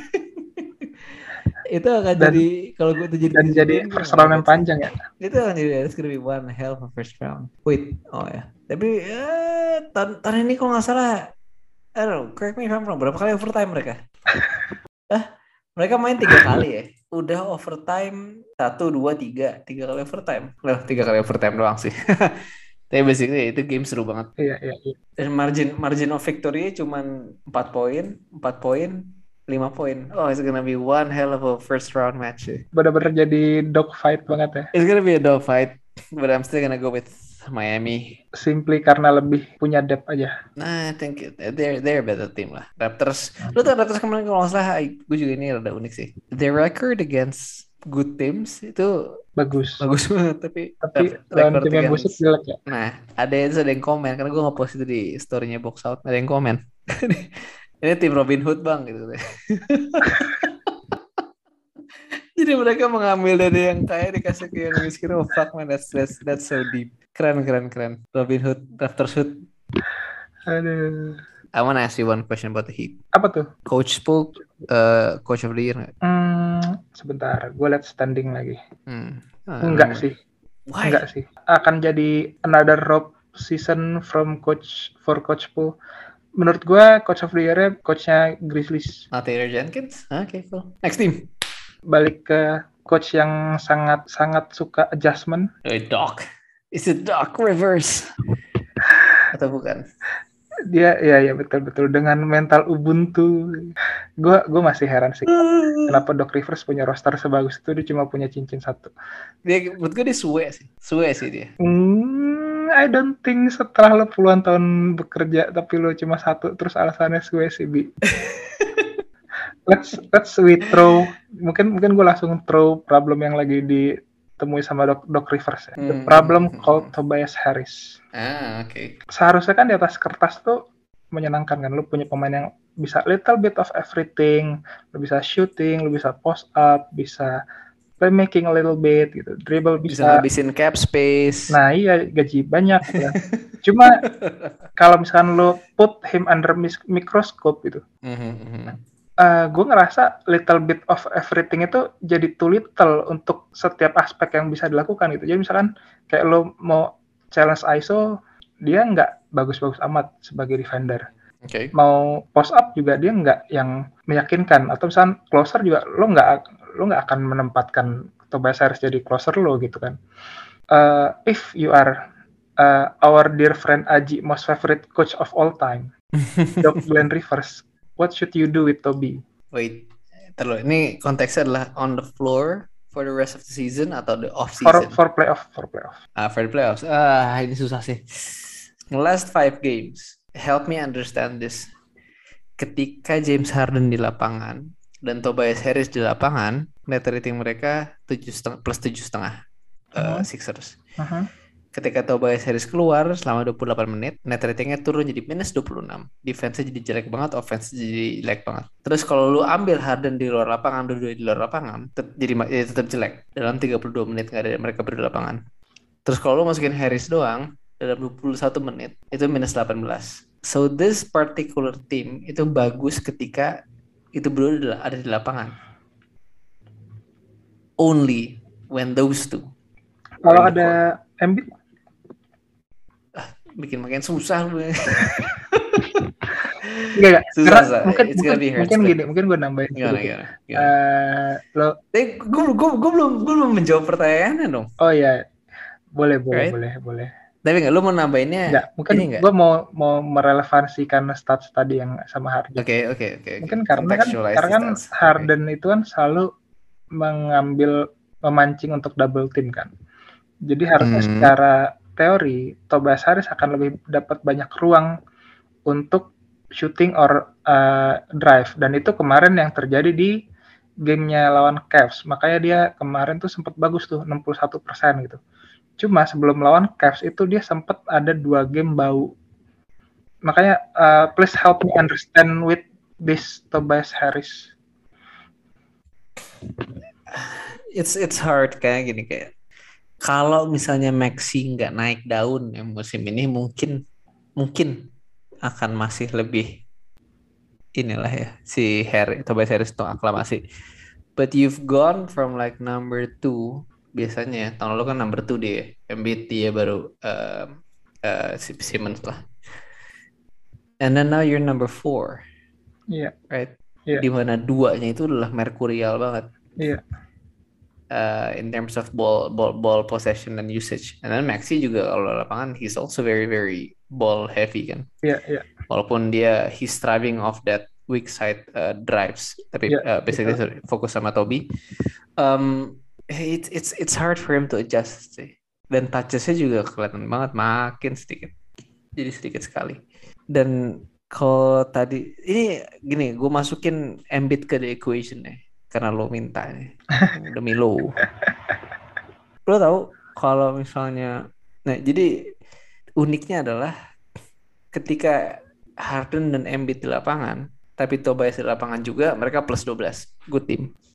D: Itu akan dan, jadi kalau gue tuh jadi
C: dan jadi first round yang panjang ya.
D: Itu akan jadi it's gonna be one hell of a first round. Wait, oh ya. Tapi eh, tahun, tahun ini kalau nggak salah, I don't know, correct me if I'm wrong, berapa kali overtime mereka? ah, mereka main tiga kali ya. Udah overtime satu, dua, tiga, tiga kali overtime. Loh, tiga kali overtime doang sih. Tapi basically itu game seru banget.
C: Iya, iya, iya.
D: Dan margin margin of victory cuma empat poin, empat poin, lima poin. Oh, it's gonna be one hell of a first round match.
C: Benar-benar jadi dog fight banget ya.
D: It's gonna be a dog fight, but I'm still gonna go with Miami.
C: Simply karena lebih punya depth aja.
D: Nah, I think they're they're a better team lah. Raptors. Hmm. Lu tau Raptors kemarin kalau nggak salah, gue juga ini rada unik sih. Their record against good teams itu
C: bagus.
D: Bagus banget, tapi
C: tapi lawan tim yang busuk jelek ya.
D: Nah, ada yang ada yang komen karena gue nge-post itu di story-nya Box Out. Ada yang komen. Ini tim Robin Hood bang gitu. Jadi mereka mengambil dari yang kaya dikasih ke yang miskin. Oh fuck man, that's that's that's so deep. Keren keren keren. Robin Hood, Raptors Hood.
C: Aduh.
D: I want to ask you one question about the Heat.
C: Apa tuh?
D: Coach Spook, uh, Coach of the Year nggak?
C: Hmm, sebentar, gue liat standing lagi.
D: Hmm. Ah,
C: Enggak
D: nomor-
C: sih,
D: Why?
C: enggak sih. Akan jadi another rough season from coach for Coach Poole. Menurut gue, Coach of the Year-nya coachnya Grizzlies.
D: Not Taylor Jenkins? Oke, okay, cool. Next team.
C: Balik ke coach yang sangat sangat suka adjustment.
D: Eh, Doc. Is it Doc Rivers? Atau bukan?
C: Dia ya ya betul-betul dengan mental Ubuntu. Gue gue masih heran sih kenapa Doc Rivers punya roster sebagus itu, dia cuma punya cincin satu.
D: Dia, menurut gue dia suwe sih. Suwe sih dia.
C: Hmm, I don't think setelah lo puluhan tahun bekerja tapi lo cuma satu terus alasannya suwe sih, Bi. let's let's we throw mungkin mungkin gue langsung throw problem yang lagi ditemui sama Doc, Doc Rivers ya. The
D: Hmm.
C: problem called Tobias Harris.
D: Ah, oke. Okay.
C: Seharusnya kan di atas kertas tuh menyenangkan kan, lo punya pemain yang bisa little bit of everything, lo bisa shooting, lo bisa post up, bisa playmaking a little bit gitu, dribble
D: Bisa
C: bisa.
D: ngabisin cap space.
C: Nah iya, gaji banyak gitu kan. Cuma kalau misalkan lo put him under mis- microscope gitu,
D: Mhm, mhm.
C: uh, gue ngerasa little bit of everything itu jadi too little untuk setiap aspek yang bisa dilakukan gitu. Jadi misalkan kayak lo mau challenge I S O, dia nggak bagus-bagus amat sebagai defender.
D: Oke.
C: Mau post up juga dia nggak yang meyakinkan. Atau misalkan closer juga lo nggak lo nggak akan menempatkan Tobias Harris jadi closer lo gitu kan. Uh, if you are uh, our dear friend Aji most favorite coach of all time, Doc Glenn Rivers, what should you do with Toby?
D: Wait, terlalu. Ini konteksnya adalah on the floor for the rest of the season atau the off
C: For
D: season?
C: for playoff, for playoff.
D: Ah, for the playoffs. Ah, ini susah sih. Last five games, help me understand this. Ketika James Harden di lapangan dan Tobias Harris di lapangan, net rating mereka tujuh setengah plus tujuh setengah uh,
C: Mhm.
D: Sixers.
C: Uh-huh.
D: Ketika Tobias Harris keluar selama dua puluh delapan menit, net ratingnya turun jadi minus dua puluh enam. Defense-nya jadi jelek banget, offense jadi jelek banget. Terus kalau lu ambil Harden di luar lapangan, dua-dua di luar lapangan, tet- jadi, ma- jadi tetap jelek. Dalam tiga puluh dua menit nggak ada mereka berdua di lapangan. Terus kalau lu masukin Harris doang, dalam dua puluh satu menit, itu minus delapan belas. So this particular team itu bagus ketika itu berdua ada di lapangan. Only when those two.
C: Kalau
D: are in the
C: ada
D: court.
C: Embiid,
D: Bikin makin susah lu.
C: enggak enggak.
D: Susah,
C: Karena
D: susah.
C: mungkin
D: It's
C: mungkin,
D: gonna be hard,
C: mungkin
D: but-
C: gini, mungkin gue nambahin
D: Gimana,
C: sedikit.
D: gimana, gimana?
C: Eh, lo,
D: Eh, gue, gue, gue belum, gue belum menjawab pertanyaannya dong.
C: oh ya, boleh boleh
D: Right?
C: boleh boleh.
D: Tapi nggak, lu mau nambahinnya?
C: Enggak, mungkin
D: ini nggak?
C: gue mau mau merelevansikan stats tadi yang sama Harden.
D: Oke, oke, oke.
C: Mungkin karena kan
D: Contextualize
C: karena
D: the
C: kan
D: stats.
C: Harden itu kan selalu mengambil memancing untuk double team kan. Jadi harusnya
D: Hmm.
C: secara teori Tobias Harris akan lebih dapat banyak ruang untuk shooting or uh, drive, dan itu kemarin yang terjadi di gamenya lawan Cavs. Makanya dia kemarin tuh sempat bagus tuh enam puluh satu persen gitu. Cuma sebelum lawan Cavs itu dia sempat ada dua game bau. Makanya uh, please help me understand with this Tobias Harris.
D: It's it's hard kayak gini kayak. Kalau misalnya Maxi nggak naik daun ya musim ini mungkin mungkin akan masih lebih inilah ya si Harry Tobias Harris itu aklamasi. But you've gone from like number two biasanya tahun lalu kan number two dia Embiid dia baru uh, uh, Simmons lah. And then now you're number four,
C: Iya,
D: right?
C: Iya.
D: Dimana duanya itu adalah merkurial banget.
C: iya.
D: Uh, in terms of ball, ball ball possession and usage. And then Maxi juga kalau lapangan he's also very very ball heavy kan.
C: Iya, iya.
D: Walaupun dia he's thriving off that weak side uh, drives, tapi
C: Yeah,
D: uh, basically sorry, fokus sama Toby. Um, it's it's it's hard for him to adjust sih. Dan touches-nya juga kelihatan banget makin sedikit. Jadi sedikit sekali. Dan kalau tadi ini gini, gue masukin Embiid ke the equation nih. Karena lo minta nih demi lo. Lo tahu kalau misalnya, nah jadi uniknya adalah ketika Harden dan Embiid di lapangan, tapi Tobias di lapangan juga, mereka plus dua belas, good team.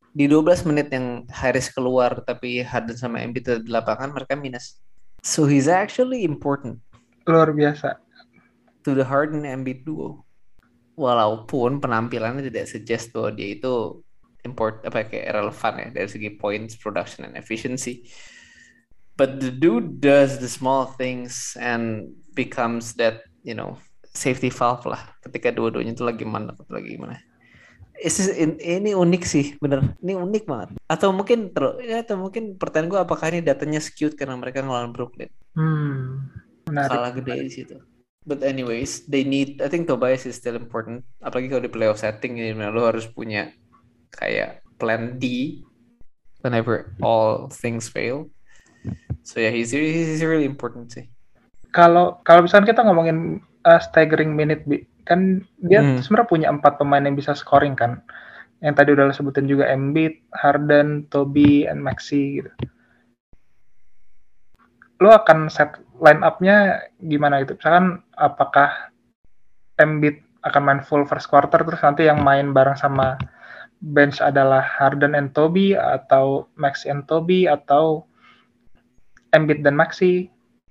D: Di dua belas menit yang Harris keluar tapi Harden sama Embiid tetap di lapangan, mereka minus. So he's actually important
C: Luar biasa.
D: to the Harden Embiid duo. Walaupun penampilannya tidak suggest bahwa dia itu import apa kayak relevan ya dari segi points, production, and efficiency. But the dude does the small things and becomes that, you know, safety valve lah ketika dua-duanya itu lagi mana atau lagi gimana. Is- in- ini unik sih, bener. Ini unik banget. Atau mungkin terus, ya, atau mungkin pertanyaan gue apakah ini datanya skewed karena mereka ngelawan Brooklyn,
C: Hmm, menarik.
D: kalah gede di situ. But anyways, they need. I think Tobias is still important. Apalagi kalau di playoff setting ini, lo harus punya kayak plan D whenever all things fail. So yeah, he's he's really important sih.
C: Kalau kalau misalnya kita ngomongin uh, staggering minute, Bi, kan dia
D: Hmm.
C: sebenarnya punya empat pemain yang bisa scoring kan. Yang tadi udah lo sebutin juga Embiid, Harden, Toby, and Maxey gitu. Lo akan set line up-nya gimana gitu? Misalkan apakah Embiid akan main full first quarter terus nanti yang main bareng sama bench adalah Harden and Toby atau Maxey and Toby atau Embiid dan Maxey?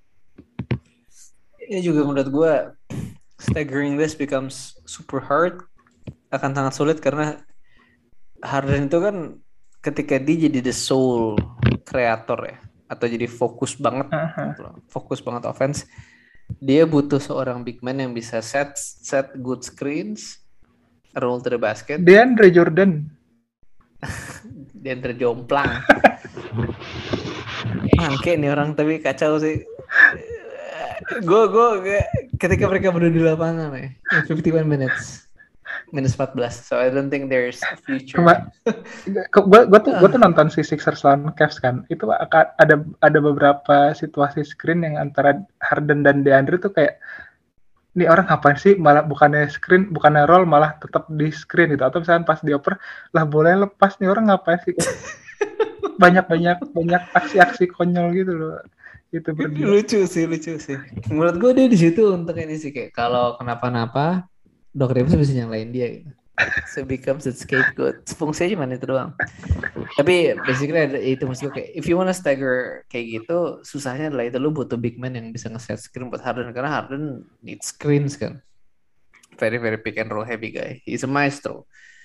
D: Ini juga menurut gue staggering this becomes super hard, akan sangat sulit karena Harden itu kan ketika dia jadi the sole creator ya, atau jadi fokus banget,
C: Uh-huh.
D: fokus banget offense, dia butuh seorang big man yang bisa set set good screens, roll to the basket,
C: DeAndre Jordan.
D: dan terjomplang. Mangke nih orang tapi kacau sih. Gue gue ketika mereka berdua di lapangan ya, in fifty-one minutes, minus empat belas. So I don't think there's a future.
C: Cuma gue gue tuh gue tuh nonton si Sixers lawan Cavs kan. Itu akan ada ada beberapa situasi screen yang antara Harden dan DeAndre tuh kayak ini orang ngapain sih, malah bukannya screen, bukannya roll, malah tetap di screen gitu. Atau misalnya pas dioper lah boleh lepas, nih orang ngapain sih? Banyak-banyak banyak aksi-aksi konyol gitu loh. Itu berdua.
D: Lucu sih, lucu sih. Menurut gue dia di situ untuk ini sih kayak kalau kenapa-napa Doc Rivers bisa nyalain dia gitu. So becomes a scapegoat. Fungsinya cuma itu doang. Tapi basically ada itu, maksud gue kayak if you wanna stagger kayak gitu, susahnya adalah itu lu butuh big man yang bisa nge-set screen buat Harden karena Harden needs screens kan. Very very pick and roll heavy guy. He's a maestro.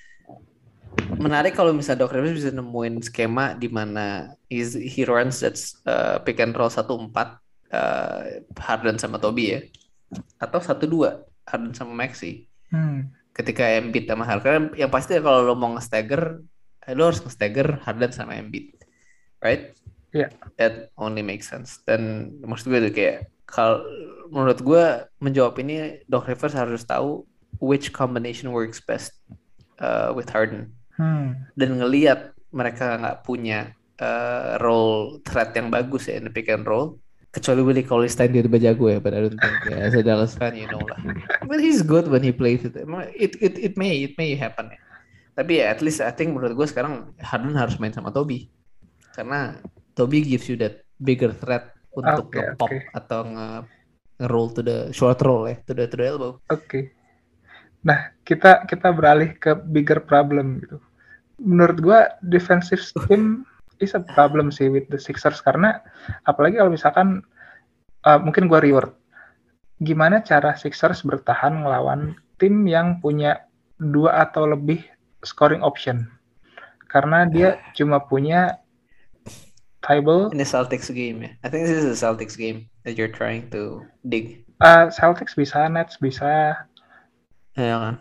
D: Menarik kalau misalnya Doc Rivers bisa nemuin skema di mana he's- he runs that uh, pick and roll satu empat uh, Harden sama Toby ya, atau satu dua Harden sama Maxey.
C: Hmm.
D: Ketika Embiid sama Harden, yang pasti kalau lo mau nge-stagger, eh, lo harus nge-stagger Harden sama Embiid, right?
C: Iya.
D: That only makes sense. Dan maksud gue tuh kayak kalau menurut gue menjawab ini Doc Rivers harus tahu which combination works best uh, with Harden.
C: Hmm.
D: Dan ngelihat mereka nggak punya uh, role threat yang bagus ya in the pick and roll, kecuali Willie Cauley-Stein dia tiba jago ya, but I don't think ya, as a Dallas fan you know lah. But he's good when he plays it. It it it may it may happen ya. Tapi ya at least I think menurut gue sekarang Harden harus main sama Toby karena Toby gives you that bigger threat untuk
C: Oke,
D: nge-pop
C: oke.
D: atau nge nge-roll to the short roll ya, to the to the elbow.
C: Oke. Nah, kita kita beralih ke bigger problem gitu. Menurut gua defensive scheme is a problem sih with the Sixers karena apalagi kalau misalkan uh, mungkin gua reward. Gimana cara Sixers bertahan melawan tim yang punya dua atau lebih scoring option? Karena dia cuma punya Thybulle,
D: In the Celtics game ya. I think this is a Celtics game that you're trying to dig.
C: uh, Celtics bisa, Nets bisa.
D: Ya kan.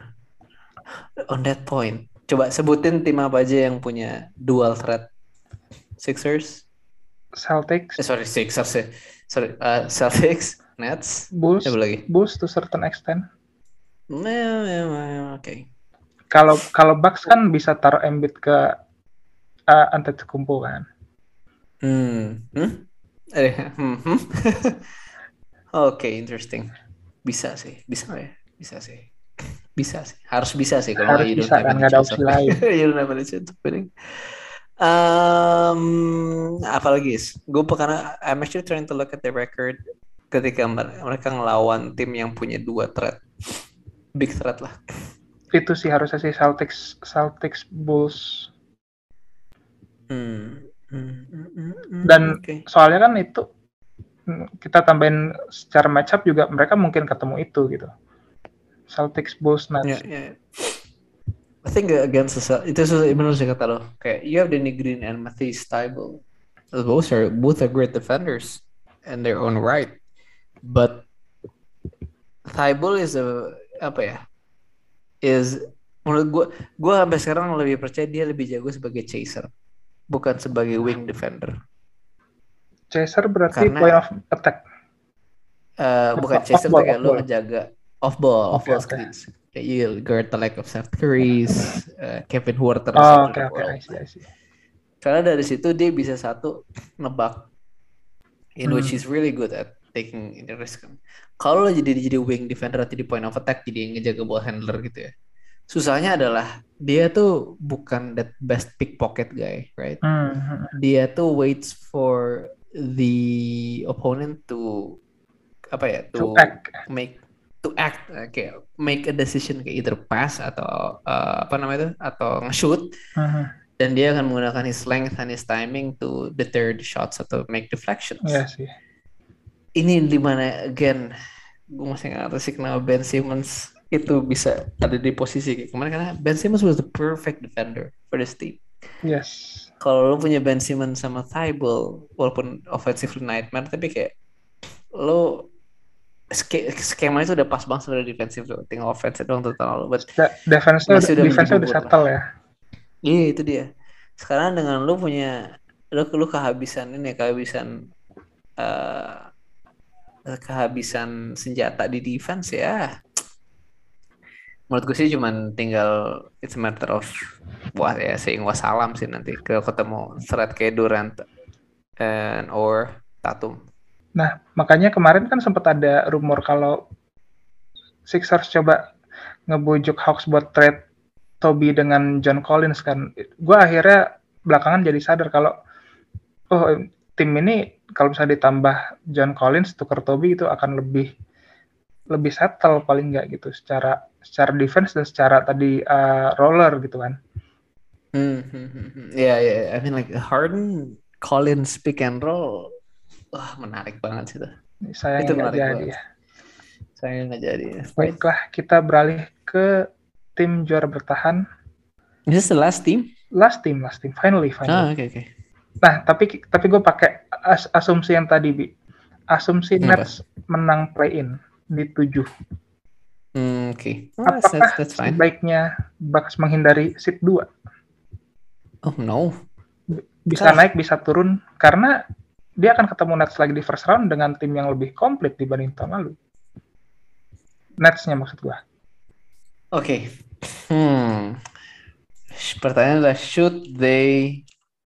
D: On that point, coba sebutin tim apa aja yang punya dual threat. Sixers,
C: Celtics,
D: eh sorry Sixers ya, sorry uh, Celtics, Nets,
C: Bulls,
D: apa lagi?
C: Bulls to certain extent.
D: Nah, ya, ya, Oke.
C: Kalau kalau Bucks kan bisa taruh Embiid ke uh, Antetokounmpo kan.
D: Hmm, hmm, eh, hmm, hmm. Oke, interesting. Bisa sih, bisa nggak ya? Bisa sih, bisa sih, harus bisa sih kalau
C: Harus
D: you don't
C: bisa
D: have
C: kan,
D: any
C: nggak ada
D: chance
C: opsi
D: of-
C: lain.
D: you don't have any chance of winning. Um, apalagi is, gue karena I'm actually trying to look at the record ketika mer- mereka ngelawan tim yang punya dua threat, big threat lah.
C: Itu sih harusnya sih Celtics, Celtics, Bulls.
D: Hmm. Hmm. Hmm. Hmm. Hmm.
C: Dan
D: Oke.
C: soalnya kan itu mm, kita tambahin secara matchup juga mereka mungkin ketemu itu gitu. Celtics, Bulls,
D: Ya,
C: Nets.
D: ya. I think against the Cel- itu susah benar sih kata lo. Kayak you have Danny Green and Matisse Thybulle. Both are both are great defenders in their own right. But Thybulle is a apa ya? Is menurut gue gue sampai sekarang lebih percaya dia lebih jago sebagai chaser, bukan sebagai wing defender.
C: Chaser berarti
D: Karena
C: point of attack.
D: uh, bukan
C: Off
D: chaser tuh
C: ball, off
D: kayak lo
C: ball.
D: ngejaga off ball, off
C: Oke,
D: ball
C: oke.
D: screens. Kayak you guard the like of Seth Curry's, uh, Kevin Huerter
C: Oh,
D: of
C: oke,
D: the
C: oke. I
D: world.
C: see, I see.
D: Karena dari situ dia bisa satu nebak, in
C: Hmm.
D: which he's really good at taking the risk. Kalau lo jadi jadi wing defender atau di point of attack, jadi ngejaga ball handler gitu ya. Susahnya adalah dia tuh bukan that best pickpocket guy, right?
C: Hmm. hmm.
D: Dia tuh waits for the opponent to apa ya,
C: To
D: to
C: act.
D: make to act uh, kayak make a decision kayak either pass atau uh, apa namanya itu atau nge-shoot,
C: Hmm.
D: dan dia akan menggunakan his length and his timing to deter the shots atau make deflections.
C: Iya sih.
D: Ini di mana again gue masih nggak ngerti sih kenapa Ben Simmons itu bisa ada di posisi kayak kemarin, karena Ben Simmons was the perfect defender for this team.
C: Yes.
D: Kalau lo punya Ben Simmons sama Thybulle, walaupun offensively nightmare, tapi kayak lo ske- skema itu udah pas banget sebenarnya defensif lo, tinggal offense doang total lo. But
C: Da- Defense-nya
D: masih
C: udah,
D: udah
C: defense-nya
D: menjadi
C: udah
D: bubur lah.
C: settle ya.
D: Iya itu dia. Sekarang dengan lo punya lo lo kehabisan ini kehabisan uh, kehabisan senjata di defense ya. Menurut gue sih cuman tinggal it's a matter of wah ya saying wassalam sih nanti ke ketemu threat kayak Durant and or Tatum.
C: Nah, makanya kemarin kan sempat ada rumor kalau Sixers coba ngebujuk Hawks buat trade Toby dengan John Collins kan. Gue akhirnya belakangan jadi sadar kalau oh tim ini kalau misalnya ditambah John Collins tuker Toby itu akan lebih lebih settle paling nggak gitu secara secara defense dan secara tadi uh, roller gitu kan.
D: Hmm, hmm, hmm, hmm. Ya ya, I mean like Harden Collins pick and roll, wah menarik banget sih tuh.
C: Sayang
D: Itu
C: nggak
D: menarik
C: jadi
D: banget.
C: ya.
D: Sayang nggak jadi.
C: Baiklah, kita beralih ke tim juara bertahan.
D: Is this the last team?
C: Last team, last team, finally, finally.
D: Ah, oke okay, oke. Okay.
C: Nah, tapi tapi gue pakai as, asumsi yang tadi, Bi. Asumsi
D: Apa?
C: Nets menang play-in di tujuh.
D: Hmm, oke. Okay. Oh, that's,
C: Apakah
D: that's, that's fine.
C: sebaiknya Bucks menghindari seed dua?
D: Oh no.
C: Bisa
D: Kah?
C: naik, bisa turun. Karena dia akan ketemu Nets lagi di first round dengan tim yang lebih komplit dibanding tahun lalu. Nets-nya maksud gue.
D: Oke. Okay. Hmm. Pertanyaan adalah should they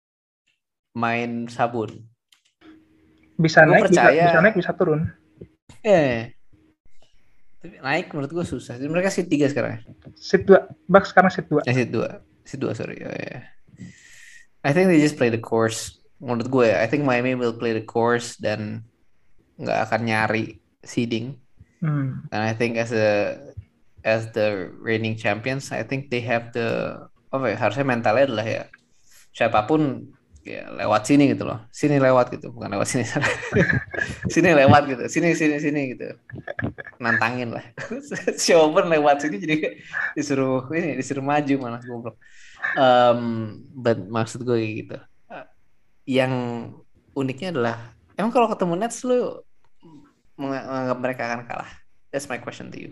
D: main sabun?
C: Bisa
D: Gua
C: naik,
D: percaya,
C: bisa, bisa naik, bisa turun.
D: Eh. Tapi naik menurut gue susah. Jadi mereka seed tiga sekarang.
C: Seed dua, Bucks sekarang seed dua.
D: Eh, seed dua. Seed dua, sorry. Oh, yeah. I think they just play the course. Menurut gue, I think Miami will play the course dan nggak akan nyari seeding.
C: Hmm.
D: And I think as a as the reigning champions, I think they have the apa ya, harusnya mentalnya adalah ya siapapun ya lewat sini gitu loh, sini lewat gitu, bukan lewat sini, sini lewat gitu, sini sini sini gitu, nantangin lah, siapapun lewat sini jadi disuruh ini disuruh maju malah goblok. Um, but maksud gue gitu, yang uniknya adalah emang kalau ketemu Nets lu menganggap mereka akan kalah? That's my question to you.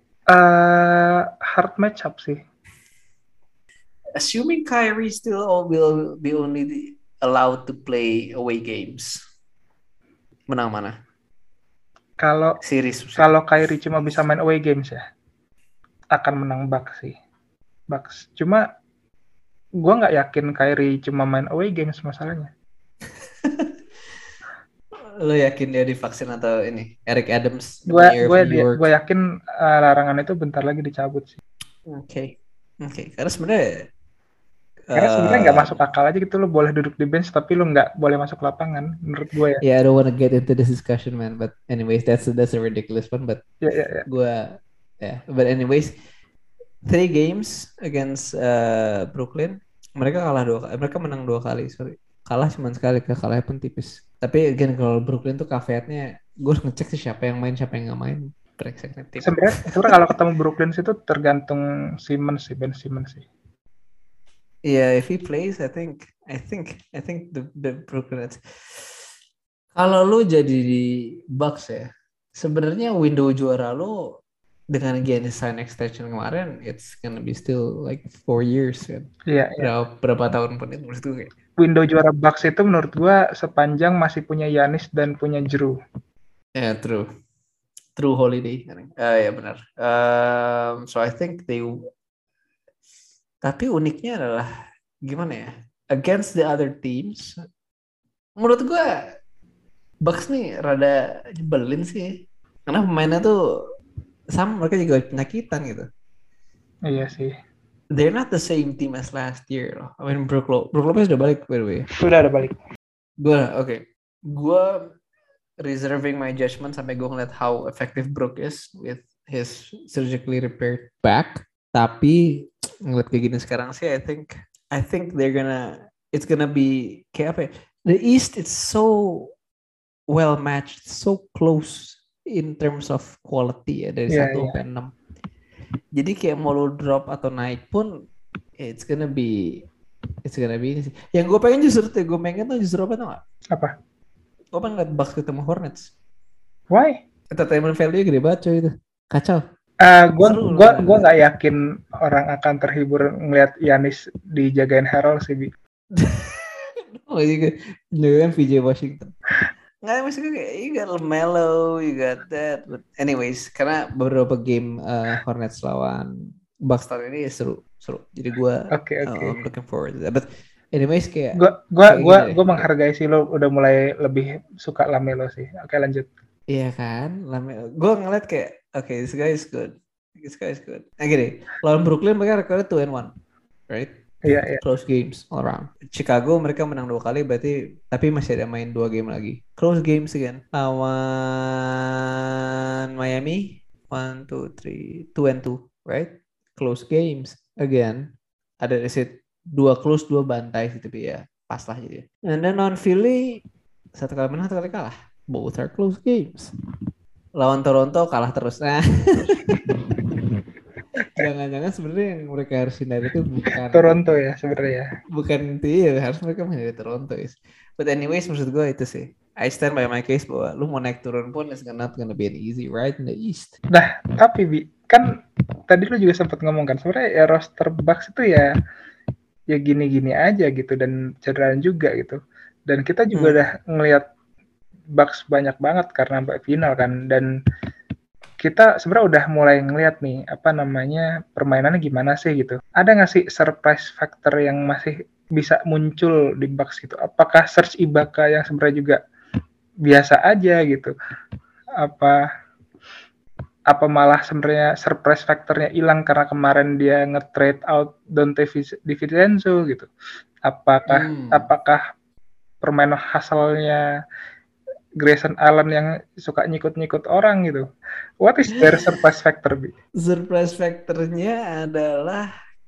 C: Uh, hard matchup sih.
D: Assuming Kyrie still will be only allowed to play away games, menang mana?
C: Kalau
D: series
C: kalau Kyrie cuma bisa main away games ya, akan menang Bucks sih. Bucks. Cuma gue nggak yakin Kyrie cuma main away games masalahnya.
D: Lo yakin dia divaksin atau ini Eric Adams?
C: Gue gue gue yakin uh, larangan itu bentar lagi dicabut sih.
D: Oke, okay. oke. Okay. Karena sebenarnya
C: Karena sebenarnya nggak uh, masuk akal aja gitu, lo boleh duduk di bench tapi lo nggak boleh masuk lapangan menurut gue ya.
D: Yeah, I don't want to get into this discussion, man. But anyways, that's that's a ridiculous one. But
C: yeah, yeah, yeah.
D: gue, yeah. But anyways, three games against uh, Brooklyn, Mereka kalah dua kali, mereka menang dua kali, sorry. Kalah cuma sekali, kalahnya pun tipis. Tapi again kalau Brooklyn tuh caveatnya, gue harus ngecek sih siapa yang main, siapa yang nggak main. Breakseknya tim.
C: Sebenarnya sebenarnya kalau ketemu Brooklyn itu tergantung Simmons sih, Ben Simmons sih.
D: Yeah, if he plays, I think, I think, I think the the Brooklyn Nets. Kalau lu jadi di Bucks ya, sebenarnya window juara lu dengan Giannis sign extension kemarin, it's gonna be still like four years kan.
C: Iya, iya.
D: Berapa, berapa tahun pun itu menurut gue kayak.
C: Window juara Bucks itu menurut gua sepanjang masih punya Giannis dan punya Jrue.
D: Yeah, true. True Holiday. Ah ya benar. Um, so I think they. Tapi uniknya adalah gimana ya? Against the other teams, menurut gue Bucks nih rada nyebelin sih. Karena pemainnya tuh sama, mereka juga penyakitan gitu.
C: Iya sih.
D: They're not the same team as last year loh. I mean Brook Lopez, Brook Lopez udah balik by the way.
C: Sudah ada balik.
D: Gue oke. Okay. Gue reserving my judgment sampai gue ngeliat how effective Brook is with his surgically repaired back. Tapi ngeliat kayak gini sekarang sih, I think I think they're gonna it's gonna be kayak apa ya? The East it's so well matched, so close in terms of quality ya dari
C: yeah,
D: satu sampai enam. Jadi kayak mau lo drop atau naik pun it's gonna be it's gonna be ini sih. Yang gue pengen justru tuh gue pengen tuh justru apa tuh nggak?
C: Apa?
D: Gue pengen ngeliat Bucks ketemu Hornets.
C: Why?
D: Entertainment value gede banget coy itu. Kacau.
C: Uh, gue gua gua nggak yakin orang akan terhibur ngelihat Giannis dijagain Harold sih, Bi.
D: Oh iya, dengan V J Washington. Nggak, maksudnya kayak you got LaMelo, you got that. But anyways, karena beberapa game uh, Hornets lawan Bucks tahun ini seru, seru. Jadi gue
C: okay, okay.
D: uh, I'm looking forward to that. But anyways kayak
C: gue gue gue gue menghargai sih lo udah mulai lebih suka LaMelo sih. Oke, lanjut.
D: Iya kan, LaMelo. Gue ngeliat kayak oke, okay, this guy is good. This guy is good. Nah gini, lawan Brooklyn mereka rekornya two and one, right?
C: Iya, yeah, iya. Yeah.
D: Close games all around. Chicago mereka menang dua kali berarti, tapi masih ada main dua game lagi. Close games again. Lawan Miami, one, two, three, two and two, right? Close games again. Ada reset dua close, dua bantai sih, tapi ya pas lah jadi. And then on Philly, satu kali menang, satu kali kalah. Both are close games. Lawan Toronto kalah terus. Nah. Jangan-jangan sebenarnya yang mereka harus hindari itu bukan
C: Toronto ya sebenarnya.
D: Bukan itu ya, harus mereka menjadi Toronto is. But anyways, maksud gue itu sih. I stand by my case bahwa lu mau naik turun pun it's not gonna be an easy ride in the East.
C: Nah, tapi Bi, kan tadi lu juga sempat ngomong kan sebenarnya ya roster Bucks itu ya ya gini-gini aja gitu dan cederaan juga gitu. Dan kita juga hmm. udah ngelihat Bucks banyak banget karena sampai final kan, dan kita sebenarnya udah mulai ngelihat nih apa namanya permainannya gimana sih gitu. Ada nggak sih surprise factor yang masih bisa muncul di Bucks gitu? Apakah Serge Ibaka yang sebenarnya juga biasa aja gitu? Apa apa malah sebenarnya surprise factornya hilang karena kemarin dia nge-trade out Donte DiVincenzo gitu? Apakah hmm. apakah permainan hasilnya Grayson Allen yang suka nyikut-nyikut orang gitu? What is their surprise factor, Bi?
D: Surprise factornya adalah,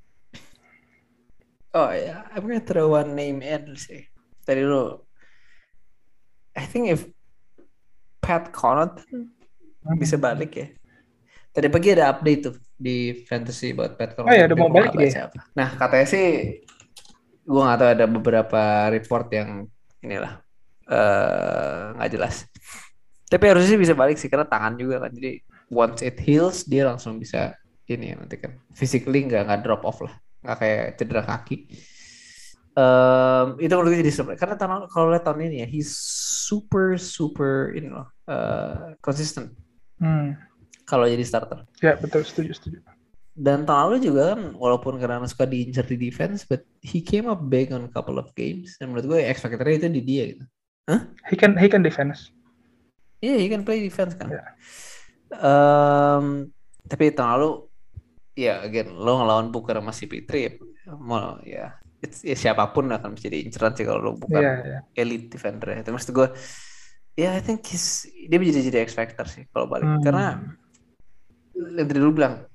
D: oh ya, I'm gonna throw one name in sih. Tadi lu, I think if Pat Connaughton hmm. bisa balik ya. Tadi pagi ada update tuh di fantasy buat Pat Connaughton.
C: Oh ya, udah mau balik dia.
D: Nah katanya sih, gue nggak tahu, ada beberapa report yang inilah. nggak uh, jelas, tapi harusnya sih bisa balik sih karena tangan juga kan, jadi once it heals dia langsung bisa ini ya nanti kan physically nggak nggak drop off lah, nggak kayak cedera kaki. Um, itu menurut gue jadi surprise karena tahun, kalau lihat tahun ini ya he's super super ini loh uh, consistent hmm. kalau jadi starter.
C: Ya betul, setuju setuju.
D: Dan tahun lalu juga kan walaupun karena suka diincar di defense, but he came up big on a couple of games, dan menurut gue X factor-nya itu di dia gitu. Huh?
C: He can he can defense.
D: Iya, yeah, he can play defense kan.
C: Yeah.
D: Um, tapi tahun lalu, ya yeah, again lo ngelawan Booker sama si Petri, mau ya, it's, ya siapapun akan menjadi inceran sih kalau lo bukan yeah, yeah. elite defender ya. Tapi maksud gue, ya yeah, I think he's, dia bisa jadi X factor sih kalau balik, hmm. karena yang tadi lu bilang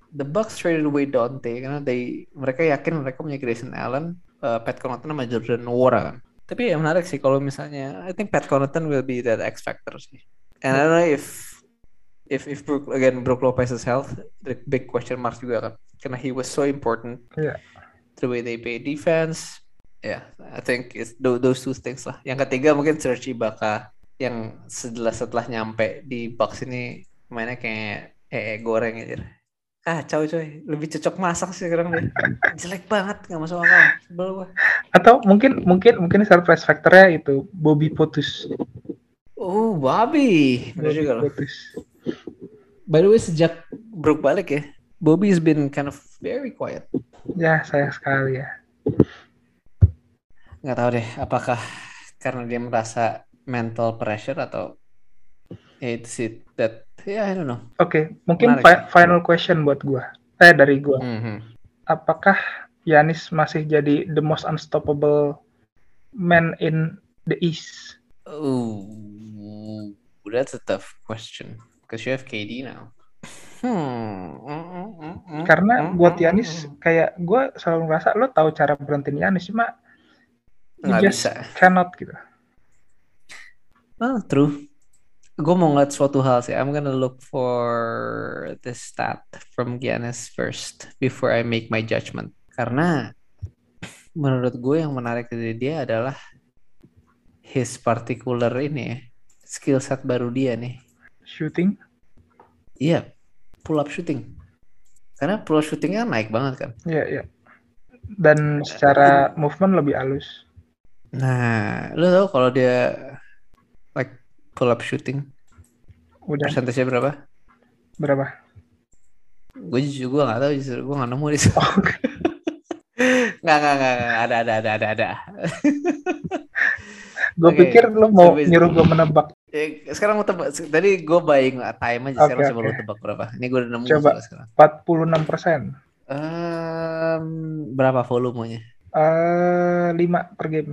D: the Bucks traded away Dante karena they mereka yakin mereka punya Grayson Allen, uh, Pat Connaughton sama Jordan Nwora kan. Tapi ya menarik sih kalau misalnya I think Pat Connaughton will be that X factor sih. And I don't know if if if Brook again Brook Lopez's health, the big question mark juga kan. Karena he was so important.
C: Yeah.
D: The way they play defense. Yeah, I think it's those two things lah. Yang ketiga mungkin Serge Ibaka yang setelah setelah nyampe di Bucks ini mainnya kayak eh, eh goreng aja. Kacau coy, lebih cocok masak sih sekarang dia. Jelek banget, nggak masuk akal. Sebel gua.
C: Atau mungkin mungkin mungkin surprise factornya itu Bobby Portis.
D: Oh, Bobby. Bener
C: Bobby
D: juga loh.
C: Portis.
D: By the way, sejak Brook balik ya, Bobby has been kind of very quiet.
C: Ya, sayang sekali ya.
D: Nggak tahu deh, apakah karena dia merasa mental pressure atau it's it that yeah I don't know.
C: Oke, okay, mungkin
D: Menarik.
C: fi- final question buat gua. Eh dari gua.
D: Mm-hmm.
C: Apakah Giannis masih jadi the most unstoppable man in the East?
D: Oh, that's a tough question because you have K D now. Hmm. Mm-mm-mm-mm.
C: Karena buat
D: Mm-mm-mm.
C: Giannis kayak gua selalu ngerasa lo tahu cara berhentiin Giannis cuma you
D: Nggak
C: just
D: bisa.
C: cannot gitu.
D: Oh, true. Gue mau ngeliat suatu hal sih. I'm gonna look for the stat from Giannis first before I make my judgment. Karena menurut gue yang menarik dari dia adalah his particular ini ya, skill set baru dia nih.
C: Shooting?
D: Iya, pull up shooting. Karena pull up shootingnya naik banget kan.
C: Iya, iya. Dan secara movement lebih halus.
D: Nah, lo tau kalau dia like pull up shooting
C: Udah
D: persentasenya berapa?
C: berapa?
D: Gue jujur gue nggak tahu, justru gue nggak nemu di situ.
C: Oh,
D: Nggak nggak nggak nggak. ada ada ada ada ada.
C: gue
D: Oke,
C: pikir lo mau
D: so basically-
C: nyuruh gue menebak.
D: Eh, sekarang mau tebak. Tadi gue buying time aja. Sekarang
C: Oke,
D: coba
C: oke.
D: lu tebak berapa. Ini gue udah nemu
C: Coba.
D: soalnya sekarang.
C: empat puluh enam persen.
D: Um, berapa volumenya?
C: Eh, lima per game.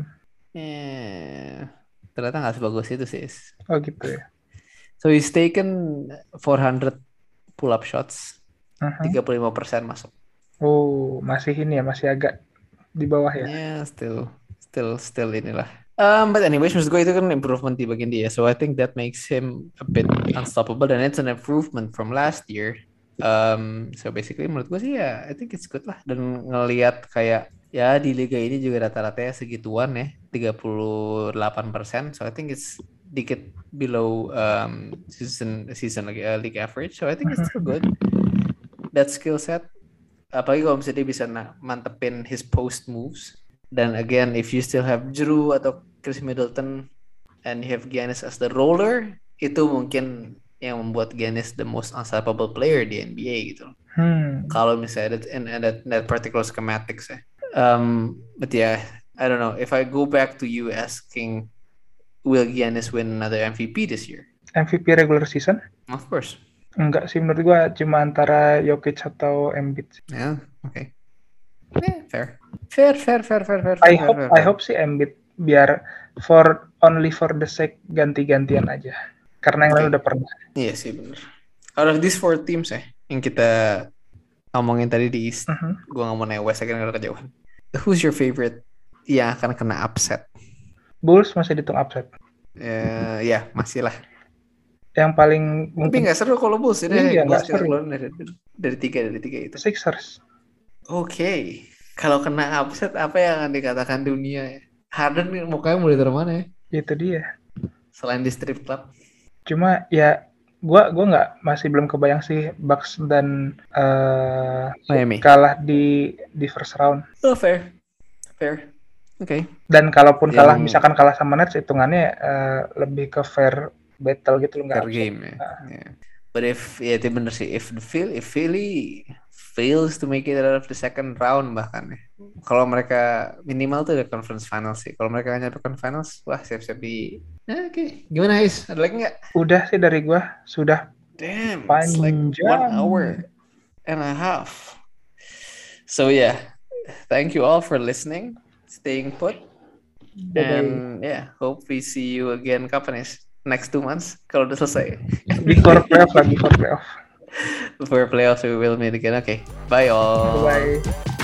D: Eh, ternyata nggak sebagus itu sih.
C: Oh gitu ya.
D: So he's taken four hundred pull up shots.
C: Mhm.
D: tiga puluh lima persen masuk.
C: Oh, masih ini ya, masih agak di bawah ya.
D: Yeah, still, still, still inilah. Um, but anyways, maksud gue itu kan improvement di bagian dia. So I think that makes him a bit unstoppable dan it's an improvement from last year. Um, so basically menurut gue sih ya, I think it's good lah. Dan ngelihat kayak ya di liga ini juga rata-ratanya segituan ya, tiga puluh delapan persen. So I think it's dikit below um, season season like, uh, league average. So I think it's still good. That skill set. Apalagi kalau misalnya dia bisa na- mantepin his post moves. Dan again, if you still have Drew atau Chris Middleton and you have Giannis as the roller, itu mungkin yang membuat Giannis the most unstoppable player di N B A gitu.
C: Hmm.
D: Kalau misalnya that, in, in that, that particular schematics ya. Um, but yeah, I don't know. If I go back to you asking, will Giannis win another M V P this year?
C: M V P regular season?
D: Of course.
C: Enggak sih, menurut gua cuma antara Jokic atau Embiid.
D: Yeah, okay. Yeah, fair. Fair, fair, fair, fair, fair.
C: I
D: fair,
C: hope
D: fair,
C: I
D: fair.
C: hope sih Embiid biar for only for the sake ganti-gantian aja. Karena yang lain
D: Okay.
C: udah pernah.
D: Iya sih bener. Out of these four teams ya, yang kita ngomongin tadi di East,
C: Mhm.
D: gue nggak mau nanya West akhirnya nggak kejauhan. Who's your favorite yang akan kena upset?
C: Bulls masih dihitung upset.
D: Eh, ya masih lah.
C: Yang paling
D: Tapi
C: mungkin
D: nggak seru kalau Bulls ini.
C: Iya,
D: Bulls
C: nggak
D: kita
C: seru.
D: keluarin dari, dari tiga dari tiga itu.
C: Sixers.
D: Oke, kalau kena upset apa yang akan dikatakan dunia? Harden nih, mukanya mau ditaruh mana ya?
C: Itu dia.
D: Selain di strip club.
C: Cuma ya gua gua nggak masih belum kebayang sih Bucks dan eh,
D: Miami.
C: kalah di di first round.
D: Oh fair, fair. Oke.
C: Dan kalaupun
D: Yang-
C: kalah misalkan kalah sama Nets hitungannya eh, lebih ke fair battle gitu loh, nggak
D: Fair
C: upset.
D: game ya. Yeah. But if ya itu bener sih, if the Phil, if Philly fails to make it out of the second round bahkan ya. Kalau mereka minimal tuh ada conference finals sih. Kalau mereka nyampe conference finals, wah siap-siap di. Eh, Oke, gimana Ais? Ada lagi nggak?
C: Udah sih dari gua sudah
D: Damn, it's like
C: Panjang.
D: one hour and a half. So yeah, thank you all for listening, staying put, and yeah, hope we see you again kapan Ais? Next two months kalau udah selesai.
C: before playoff lah before playoff.
D: For playoffs, we will meet again. Okay, bye all.
C: Bye.